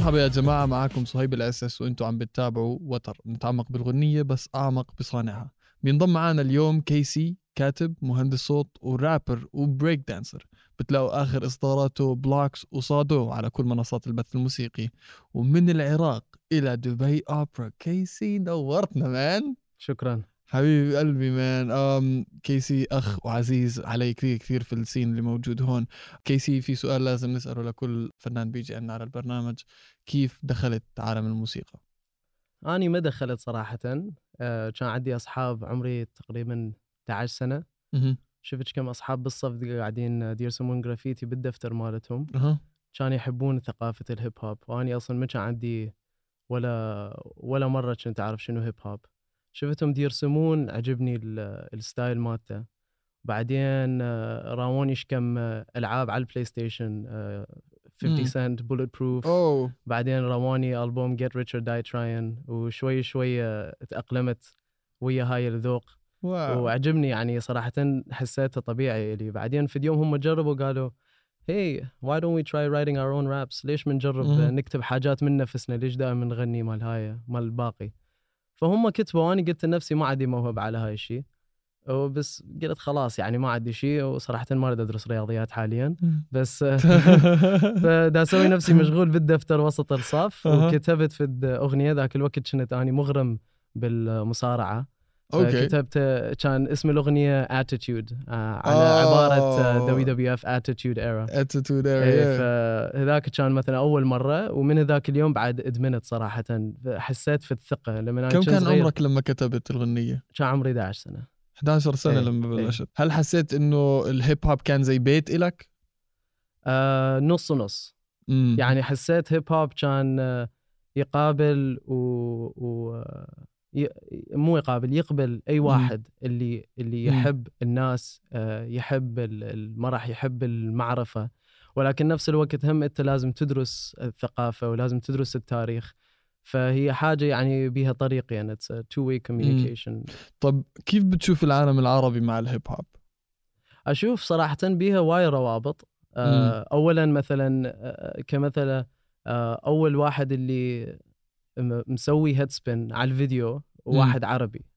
مرحبا يا جماعة، معاكم صهيب الأساس وانتوا عم بتتابعوا وتر، نتعمق بالغنية بس أعمق بصانعها. بينضم معنا اليوم كيسي، كاتب مهندس صوت ورابر وبريك دانسر. بتلاقوا آخر إصداراته بلوكس وصادو على كل منصات البث الموسيقي. ومن العراق إلى دبي أوبرا. كيسي نورتنا مان. شكرا حبيبي قلبي مان. كيسي أخ وعزيز علي كثير كثير في السين اللي موجود هون. كيسي، في سؤال لازم نسأله لكل فنان بيجي عنا على البرنامج: كيف دخلت عالم الموسيقى؟ أنا ما دخلت صراحة. كان عندي أصحاب عمري تقريبا 11 سنة. شفت كم أصحاب بالصف قاعدين يرسمون جرافيتي بالدفتر مالتهم. كان يحبون ثقافة الهيب هوب، وأنا أصلا ما كان عندي ولا مرة كنت أعرف شنو هيب هوب. شفتهم يرسمون، عجبني الستايل مالته. بعدين راوني كم ألعاب على البلاي ستيشن، 50 سنت بولت بروف. بعدين رواني ألبوم Get Rich or Die Tryin'، وشوي شوي تأقلمت ويا هاي الذوق. وعجبني يعني صراحة، حسيته طبيعي لي. بعدين في اليوم هم جربوا قالوا hey why don't we try writing our own raps؟ ليش منجرب نكتب حاجات من نفسنا؟ ليش دائما نغني مال الباقي؟ فهم كتبوا، وأنا قلت لنفسي ما عندي موهبة على هاي الشيء، وبس قلت خلاص يعني ما عندي شيء. وصراحة ما أريد أدرس رياضيات حاليا، بس فدا أسوي نفسي مشغول بالدفتر وسط الصف. وكتبت في أغنية ذاك الوقت كنت أنا مغرم بالمصارعة، فكتبت كان اسم الأغنية Attitude، على عبارة WWF Attitude Era. فهذاك كان مثلا أول مرة، ومن ذاك اليوم بعد أدمنت صراحة. حسيت في الثقة لما كم كان عمرك لما كتبت الغنية؟ كان عمري 11 سنة. 11 سنة لما بلشت. هل حسيت إنه الهيب هوب كان زي بيت إلك؟ نص نص. يعني حسيت هيب هوب كان يقابل مو يقبل أي واحد اللي يحب الناس، يحب المرح، يحب المعرفة. ولكن نفس الوقت هم أنت لازم تدرس الثقافة ولازم تدرس التاريخ. فهي حاجة يعني بيها طريق، يعني it's a two-way communication. طب كيف بتشوف العالم العربي مع الهيب هوب؟ أشوف صراحة بيها وايد روابط. أولا مثلا كمثلا أول واحد اللي مسوي هيد سبين على الفيديو واحد عربي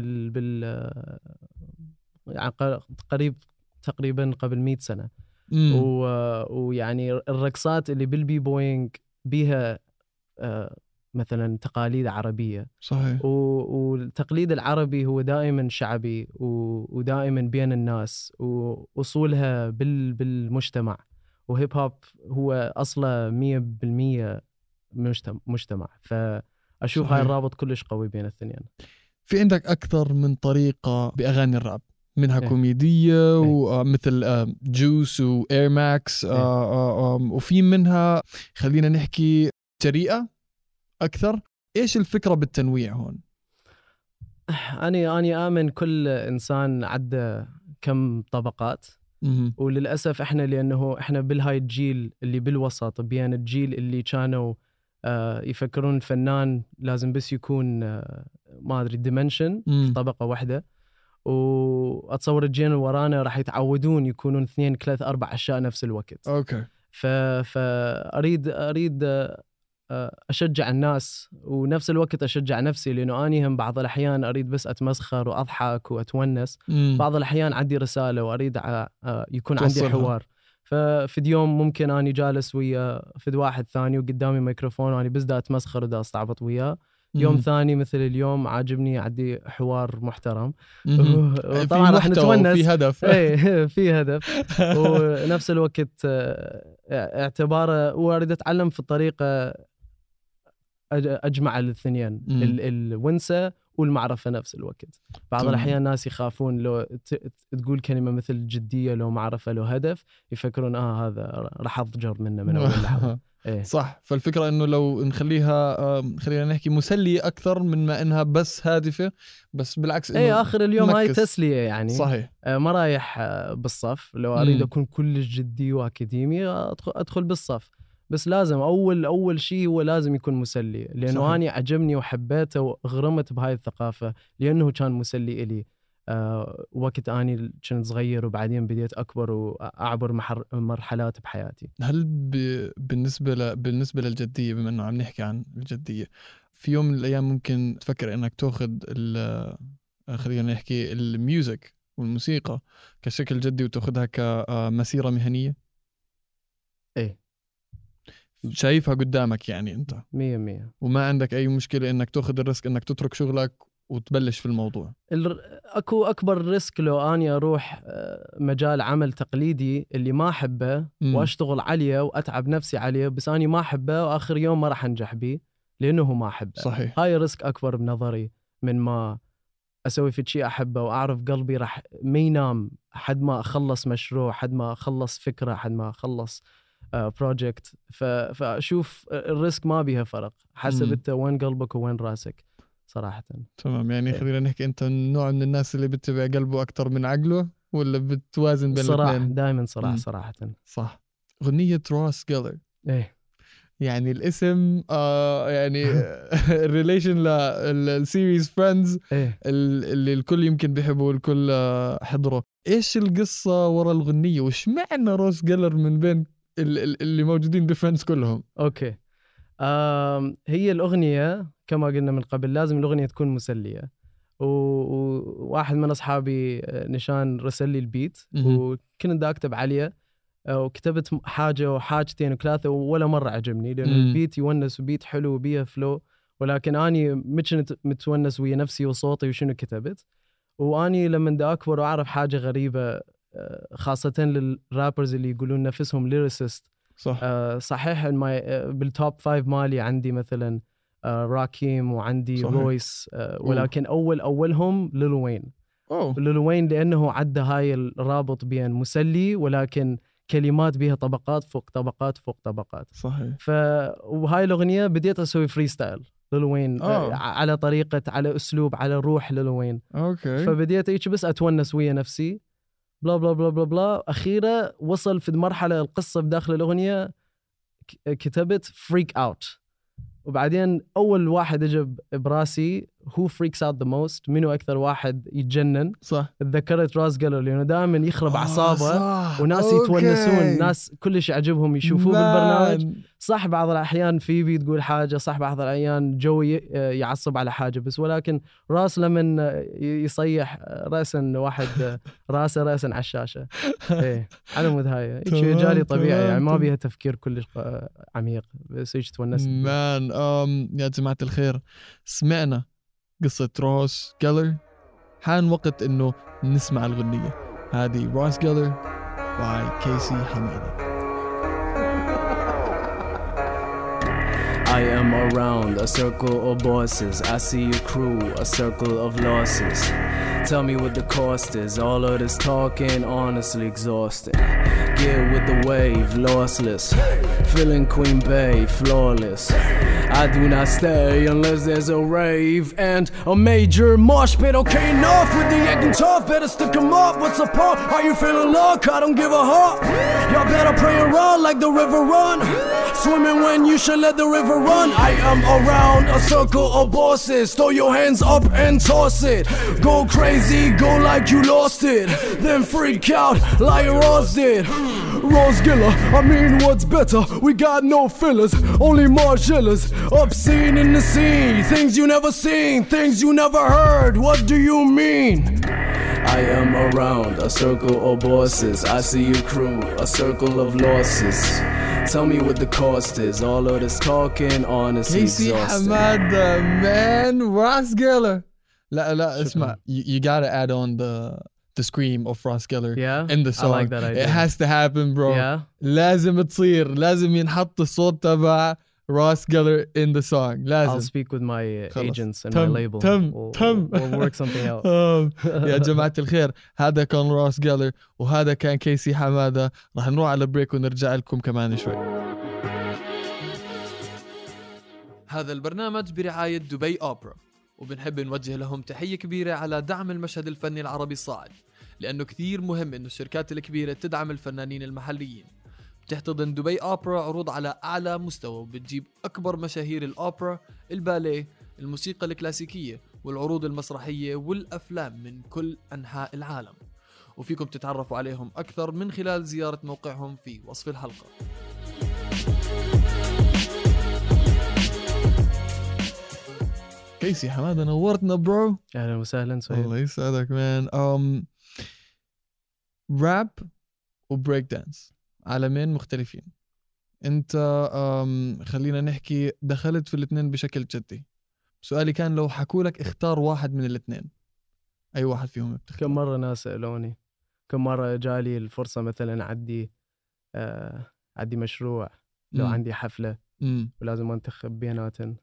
يعني تقريبا قبل 100 سنة. ويعني الرقصات اللي بالبي بوينج بيها مثلا تقاليد عربية. صحيح. والتقليد العربي هو دائما شعبي ودائما بين الناس، وأصولها بالمجتمع. وهيب هوب هو أصله 100% مجتمع. فأشوف هاي الرابط كلش قوي بين الاثنين. في عندك أكثر من طريقة بأغاني الراب، منها كوميدية ومثل جوس وإير ماكس، وفي منها خلينا نحكي جريئة أكثر. إيش الفكرة بالتنويع هون؟ أنا آمن كل إنسان عدى كم طبقات. وللأسف لأنه إحنا بالهاي الجيل اللي بالوسط، بين الجيل اللي كانوا يفكرون الفنان لازم بس يكون ما أدري ديمنشن في طبقة واحدة. وأتصور الجيل ورانا راح يتعودون يكونون 2 3 4 أشياء نفس الوقت. فأريد أشجع الناس، ونفس الوقت أشجع نفسي، لأنه أنا هم بعض الأحيان أريد بس أتمسخر وأضحك وأتونس. بعض الأحيان عندي رسالة وأريد يكون عندي حوار. ففي يوم ممكن أنا جالس ويا فد واحد ثاني وقدامي ميكروفون وأنا بس دا أتمسخر ودا أستعبط وياه. يوم ثاني مثل اليوم عاجبني عندي حوار محترم، طبعا راح نتونس في هدف. في هدف. ونفس الوقت اعتباره واريد أتعلم في الطريقة أجمع الاثنين، الونسة والمعرفة نفس الوقت. بعض الأحيان ناس يخافون لو تقول كلمة مثل جدية، لو معرفة، لو هدف، يفكرون هذا راح أضجر منه من أول لحظة. صح. فالفكرة إنه لو نخليها خلينا نحكي مسلية أكثر من ما إنها بس هادفة، بس بالعكس إنه آخر اليوم هاي تسلية يعني. صحيح. ما رايح بالصف. لو أريد أكون كل جدي وأكاديمي أدخل بالصف، بس لازم أول شيء هو لازم يكون مسلي، لأنه أنا عجبني وحبيته وغرمت بهاي الثقافة لأنه كان مسلي إلي. وقت أني كنت صغير وبعدين بديت أكبر وأعبر مرحلات بحياتي. هل بالنسبة للجدية، بما أنه عم نحكي عن الجدية، في يوم من الأيام ممكن تفكر أنك تأخذ خلينا نحكي الميوزك والموسيقى كشكل جدي وتأخذها كمسيرة مهنية؟ إيه، شايفها قدامك يعني أنت 100%، وما عندك أي مشكلة أنك تأخذ الريسك أنك تترك شغلك وتبلش في الموضوع؟ أكو أكبر ريسك لو أني أروح مجال عمل تقليدي اللي ما أحبه وأشتغل عليه وأتعب نفسي عليه، بس أني ما أحبه وآخر يوم ما راح أنجح بيه لأنه ما أحبه. صحيح. هاي ريسك أكبر بنظري من ما أسوي في شيء أحبه وأعرف قلبي راح ما ينام حد ما أخلص مشروع، حد ما أخلص فكرة، حد ما أخلص بروجكت. فأشوف الريسك ما بيها فرق، حسب أنت وين قلبك وين راسك صراحة. تمام. يعني خلينا نحكي أنت نوع من الناس اللي بتتبع قلبه أكتر من عقله، ولا بتوازن بين الاثنين؟ دائما صراحة. صح. أغنية روس جيلر، إيه يعني الاسم يعني الريليشن للسيريز فريندز اللي الكل يمكن بيحبه والكل حضره. ايش القصة ورا الغنية وش معنى روس جيلر من بين اللي موجودين بفريندز كلهم؟ اوكي، هي الأغنية كما قلنا من قبل لازم الأغنية تكون مسلية، وواحد من أصحابي نشان رسل لي البيت وكنت دا أكتب عليه وكتبت حاجة وحاجتين وثلاثة ولا مرة عجبني، لأنه البيت يونس وبيت حلو وبيه فلو، ولكن أني مش متونس ويا نفسي وصوتي وشنو كتبت. وأني لما دا أكبر وأعرف حاجة غريبة خاصة للرابرز اللي يقولون نفسهم ليريسيست. صح. صحيح بالتوب 5 مالي عندي مثلا راكيم وعندي رويس، ولكن أولهم ليل وين. ليل وين لأنه عدى هاي الرابط بين مسلي ولكن كلمات بها طبقات فوق طبقات فوق طبقات. صحيح. وهاي الأغنية بديت أسوي فري ستايل ليل وين، على طريقة، على أسلوب، على روح ليل وين. فبديت إيش بس أتونس ويا نفسي بلا بلا بلا بلا بلا. أخيرا وصل في مرحلة القصة بداخل الأغنية كتبت فريك أوت، وبعدين أول واحد أجب براسي who freaks out the most، منو أكثر واحد يتجنن. صح. تذكرت راس جيلر لأنه دائما يخرب أعصابه وناس يتونسون، ناس كلش يعجبهم يشوفوه بالبرنامج. صح بعض الأحيان فيبي تقول حاجة، صح بعض الأحيان جوي يعصب على حاجة، بس ولكن راس لمن يصيح رأسا واحد راسا على الشاشة. إيه على مود هاي جالي طبيعي، يعني ما بيها تفكير كلش عميق، بس إيش تونس. مان يا جماعة الخير، سمعنا قصة روس جيلر، حان وقت إنه نسمع الغنية هذه. روس جيلر by كيسي حمادة. I am around a circle of bosses. I see a crew, a circle of losses. Tell me what the cost is. All of this talking, honestly exhausting. Get with the wave, lossless. Feeling Queen Bay, flawless. I do not stay unless there's a rave and a major mosh pit. Okay, enough with the acting tough. Better stick 'em up. What's the point? Are you feeling luck? I don't give a huff. Y'all better pray and run like the river run. Swimming when you should let the river run. I am around a circle of bosses. Throw your hands up and toss it. Go crazy, go like you lost it. Then freak out like Ross did. Ross Giller, I mean what's better? We got no fillers, only Margillas. Obscene in the scene, things you never seen, things you never heard. What do you mean? I am around a circle of bosses. I see a crew, a circle of losses. Tell me what the cost is. All of this talking, honestly كيسي حمادة, man. Ross Geller. لا اسمع, you gotta add on the scream of Ross Geller in the song. I like that idea. It has to happen, bro. لازم تصير, لازم ينحط الصوت تبع Ross Geller in the song. لازم. I'll speak with my agents and my label. We'll work something out. يا جماعة الخير, هذا كان Ross Geller وهذا كان كيسي حمادة. راح نروح على بريك ونرجع لكم كمان شوي. هذا البرنامج برعاية دبي أوبرا, وبنحب نوجه لهم تحية كبيرة على دعم المشهد الفني العربي الصاعد, لأنه كثير مهم إنه الشركات الكبيرة تدعم الفنانين المحليين. بتحتضن دبي أوبرا عروض على أعلى مستوى, وبتجيب أكبر مشاهير الأوبرا, الباليه, الموسيقى الكلاسيكية, والعروض المسرحية والأفلام من كل أنحاء العالم، وفيكم تتعرفوا عليهم أكثر من خلال زيارة موقعهم في وصف الحلقة. كيسي حمادة نورتنا برو. أهلا وسهلا سهيل. الله يسعدك مان. راب وبريك دانس عالمين مختلفين. انت خلينا نحكي دخلت في الاثنين بشكل جدي. سؤالي كان لو حكولك اختار واحد من الاثنين، اي واحد فيهم بتختار؟ كم مرة ناس سألوني، كم مرة جالي الفرصة مثلا عندي مشروع، لو عندي حفلة ولازم انتخب بيناتن،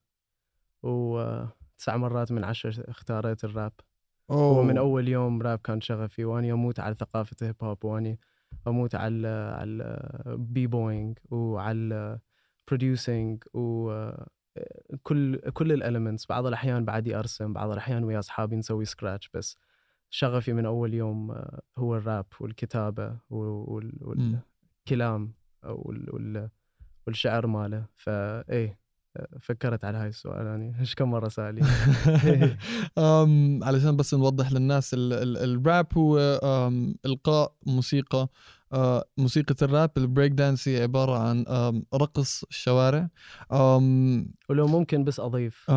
9 مرات من 10 اختاريت الراب. ومن أول يوم راب كان شغفي، وأني أموت على ثقافة الهيب هوب، وأني أموت على بي بوينج وعلى بروديوسينج وكل الاليمنتس. بعض الأحيان بعدي أرسم، بعض الأحيان ويا أصحابي نسوي سكراتش، بس شغفي من أول يوم هو الراب والكتابة والكلام والشعر ماله. فإيه فكرت على هاي السؤال يعني إيش كم مرة سألي. علشان بس نوضح للناس الراب هو إلقاء موسيقى. موسيقى الراب البريك دانس هي عبارة عن رقص الشوارع. ولو ممكن بس أضيف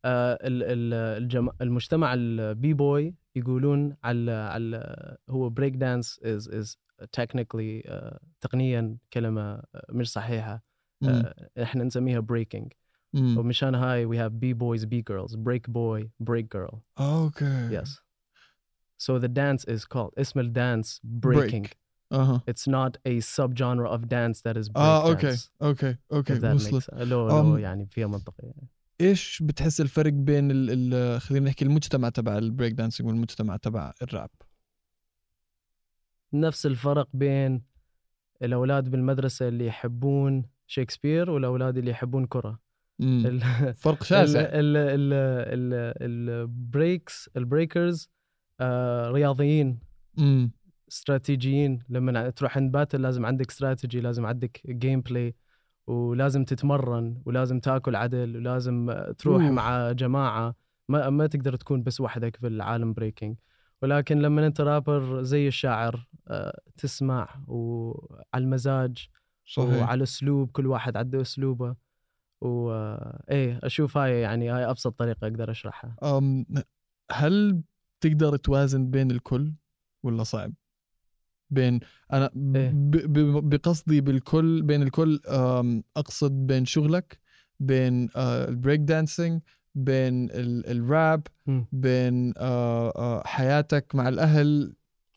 المجتمع البي بوي يقولون على هو بريك دانس is technically تقنيا كلمة مش صحيحة. احنا نسميها breaking. ومشان هاي we have B boys, B girls, break boy, break girl. Okay. Yes. So the dance is called اسم الدانس breaking. It's not a subgenre of dance that is break dance. Okay. وصلت. لو يعني فيها منطقة يعني. إيش بتحس الفرق بين خلينا نحكي المجتمع تبع البريك دانسينج والمجتمع تبع الراب؟ نفس الفرق بين الأولاد بالمدرسة اللي يحبون شكسبير والأولاد اللي يحبون كرة. فرق شاسع. البريكرز رياضيين استراتيجيين. لما تروح عند باتل لازم عندك استراتيجي، لازم عندك جيم بلاي، ولازم تتمرن، ولازم تاكل عدل، ولازم تروح مع جماعة. ما تقدر تكون بس وحدك في العالم بريكينج. ولكن لما انت رابر زي الشاعر تسمع وعلى المزاج. صحيح. وعلى اسلوب، كل واحد عنده اسلوبه. اشوف هاي يعني هاي ابسط طريقه اقدر اشرحها. هل تقدر توازن بين الكل ولا صعب؟ بين انا بقصدي بالكل، بين الكل اقصد بين شغلك، بين البريك دانسينج، بين الراب، بين حياتك مع الاهل.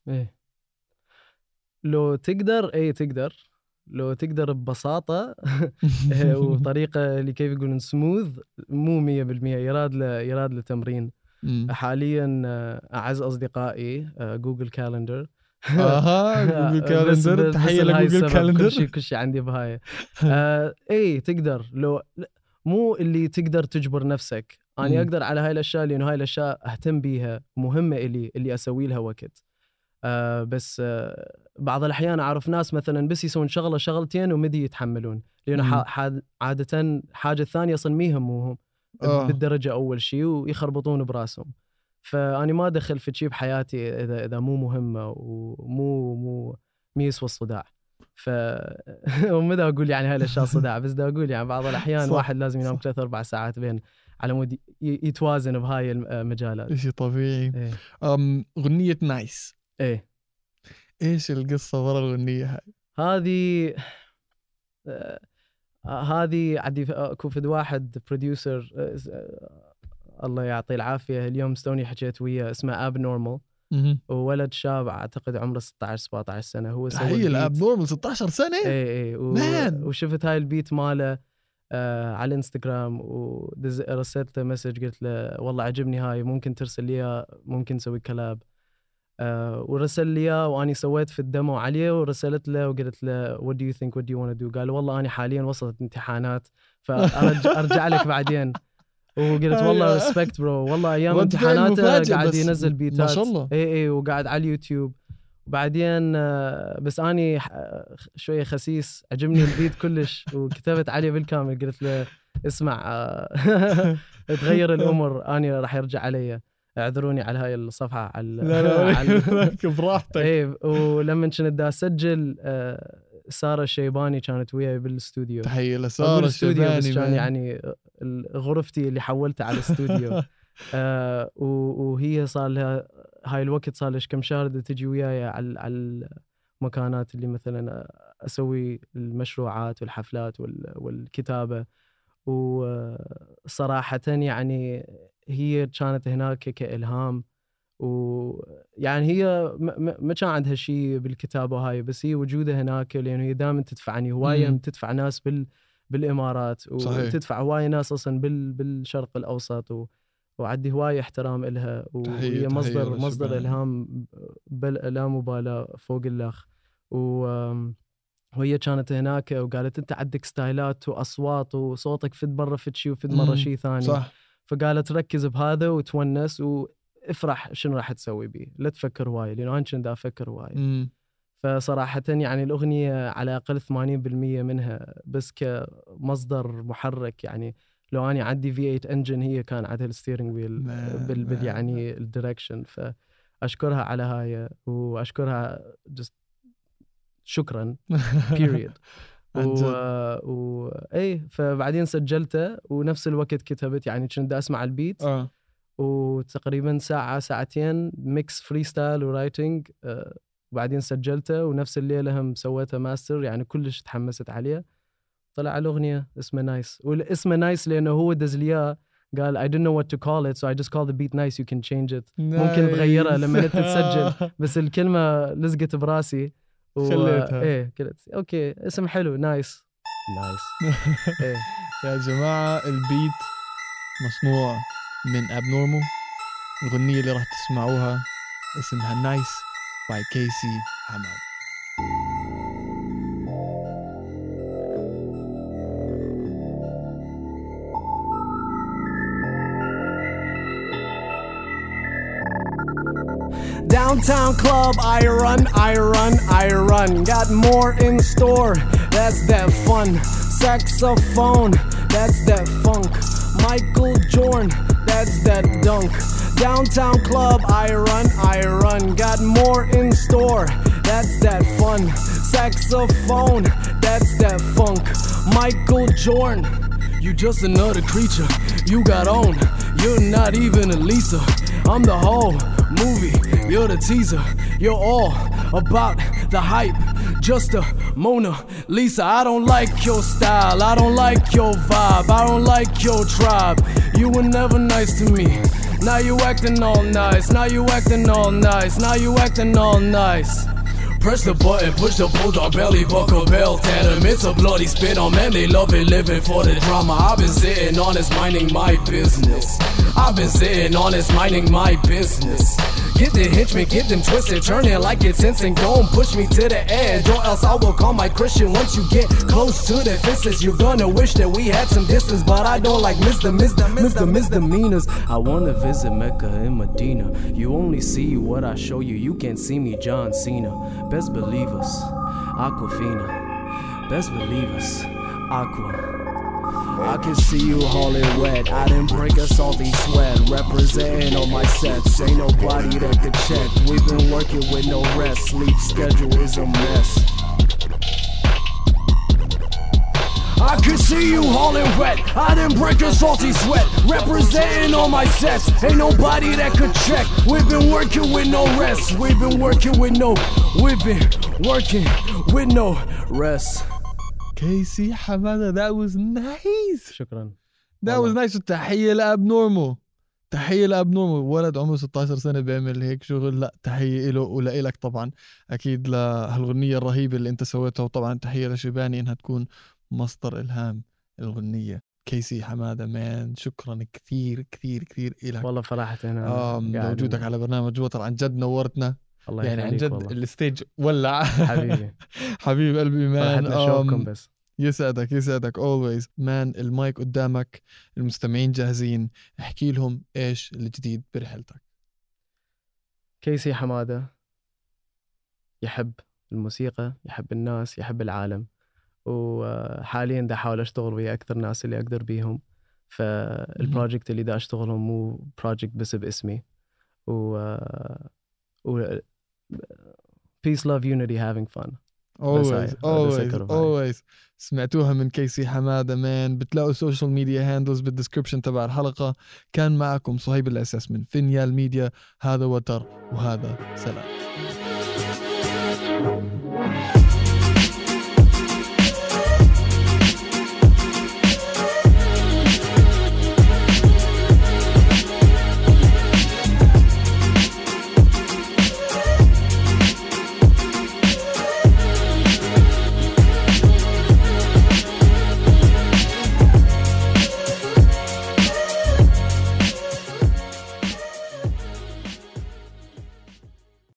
لو تقدر تقدر، لو تقدر ببساطة وطريقة اللي كيف يقولون سموث، مو 100%، يراد لتمرين. حاليا أعز أصدقائي جوجل كالندر. جوجل كالندر، تحية لجوجل كالندر. كل شيء عندي بهاي. تقدر، لو مو اللي تقدر تجبر نفسك. أنا أقدر على هاي الأشياء لأنه هاي الأشياء أهتم بيها، مهمة اللي أسوي لها وقت. بس بعض الأحيان أعرف ناس مثلا بس يسوون شغلتين ومدي يتحملون، لأنه عادة حاجة الثانية أصلا ميهموهم بالدرجة أول شيء، ويخربطون براسهم. فأنا ما أدخل في شيء بحياتي إذا مو مهمة ومو يسوى الصداع. ومدى أقول يعني هاي الأشياء صداع، بس دا أقول يعني بعض الأحيان واحد لازم ينام 3-4 ساعات بين على مود يتوازن بهاي المجالات. شيء طبيعي. غنية نايس، ايش القصة ورا الأغنية هاي؟ هذه عندي كوفد واحد بروديوسر الله يعطيه العافية، اليوم ستوني حكيت وياه، اسمه اب نورمال. وولد شاب اعتقد عمره 16-17 سنة. هو سوى الاب نورمال 16 سنة. وشفت هاي البيت ماله على الانستغرام، ورسلت له مسج قلت له والله عجبني هاي، ممكن ترسل لي، ممكن نسوي كلاب. ورسل لي واني سويت في الدمو عليه، ورسلت له وقلت له what do you think, what do you want to do؟ قال والله أنا حاليا وصلت امتحانات فأرجع لك بعدين. وقلت والله respect bro، والله أيام امتحاناته قاعد ينزل بيتات ما شاء الله. وقاعد على اليوتيوب. وبعدين بس أني شوية خسيس، عجبني البيت كلش، وكتبت عليه بالكامل قلت له اسمع تغير الامور انا راح يرجع علي. اعذروني على هاي الصفحه على لا براحتك. ايه. ولما كنت دا اسجل سارة الشيباني كانت وياي بالاستوديو. تحيه لسارة الشيباني، بس كان يعني غرفتي اللي حولتها على الاستوديو. وهي صار لها هاي الوقت صار لها كم شهر تجي وياي على المكانات اللي مثلا اسوي المشروعات والحفلات والكتابه. وصراحه يعني هي كانت هناك كإلهام. ويعني هي ما كان عندها شيء بالكتابة هاي، بس هي وجودها هناك لأنه هي دائما تدفعني هواية. تدفع ناس بالإمارات، وتدفع هواية ناس أصلا بالشرق الأوسط، وعندي هواية احترام إلها. وهي مصدر إلهام لا مبالاة فوق الأخ. وهي كانت هناك وقالت أنت عندك ستايلات وأصوات وصوتك فد مرة فد شيء وفد مرة شيء ثاني. صح. فقالت ركز بهذا وتونس وافرح شنو راح تسوي بيه، لا تفكر هواي، لأنه أنا كنت أفكر هواي. فصراحة يعني الأغنية على الأقل 80% منها بس كمصدر محرك. يعني لو أنا عندي V8 انجن هي كان عندها الستيرنج ويل يعني الديركشن. فأشكرها على هاي وأشكرها شكرا period. ايه فبعدين سجلته ونفس الوقت كتبت. يعني كنت اسمع البيت وتقريبا ساعة ساعتين ميكس فريستايل ورايتنج. وبعدين سجلته ونفس الليلة هم سويتها ماستر. يعني كلش تحمست عليه. طلع الأغنية اسمها نايس. والاسمه نايس لأنه هو دزلياه قال I didn't know what to call it so I just call the beat nice you can change it. ممكن تغيرها لما انت تسجل بس الكلمة لزقت براسي خليتها. ايه قلت اوكي اسم حلو نايس. ايه يا جماعة البيت مصنوع من Abnormal. الغنية اللي راح تسمعوها اسمها نايس by كيسي حمادة. Downtown club, I run. Got more in store, that's that fun. Saxophone, that's that funk. Michael Jordan, that's that dunk. Downtown club, I run. Got more in store, that's that fun. Saxophone, that's that funk. Michael Jordan, you just another creature. You got on, you're not even a Lisa. I'm the whole movie, you're the teaser. You're all about the hype, just a Mona Lisa. I don't like your style, I don't like your vibe, I don't like your tribe. You were never nice to me. Now you acting all nice, now you acting all nice, now you acting all nice. Press the button, push the bulldog belly, buckle belt at him. It's a bloody spit on, man, they love it, living for the drama. I've been sitting honest, minding my business. I've been sitting honest, minding my business. Get the henchmen, get them twisted, turn it like it's instant. Don't push me to the edge, or else I will call my Christian. Once you get close to the fences, you're gonna wish that we had some distance. But I don't like misdemeanors. I wanna visit Mecca and Medina. You only see what I show you, you can't see me John Cena. Best believe us, Aquafina. Best believe us, Aqua. I can see you hauling wet. I didn't break a salty sweat. Representing on my sets. Ain't nobody that could check. We've been working with no rest. Sleep schedule is a mess. I can see you hauling wet. I didn't break a salty sweat. Representing on my sets. Ain't nobody that could check. We've been working with no rest. We've been working with no rest. كيسي حمادة, that was nice. شكرا. that was nice. تحية لأبنورمال, تحية لأبنورمال. ولد عمره 16 سنة بيعمل هيك شغل. لا تحية له ولإلك طبعا أكيد لهالغنية الرهيبة اللي أنت سويتها. وطبعا تحية لشيباني إنها تكون مصدر إلهام الغنية. كيسي حمادة مان, شكرا كثير كثير كثير إلك. والله فرحة أنا وجودك على برنامج وتر عن جد نورتنا. الله يعني عن جد والله. الستيج ولع. حبيبي حبيب قلبي مان. نشوفكم بس. يسعدك always مان. المايك قدامك, المستمعين جاهزين, احكي لهم ايش الجديد برحلتك. كيسي حمادة يحب الموسيقى, يحب الناس, يحب العالم. وحاليا دا احاول اشتغل ويا اكثر ناس اللي اقدر بيهم. فالبروجكت اللي دا اشتغلهم مو بروجكت بس باسمي و peace love unity having fun. always سمعتوها من كيسي حمادة مان. بتلاقوا السوشيال ميديا هاندلز بالدسكريبشن تبع الحلقة. كان معكم صهيب الأساس من فينيال ميديا. هذا وتر وهذا سلام.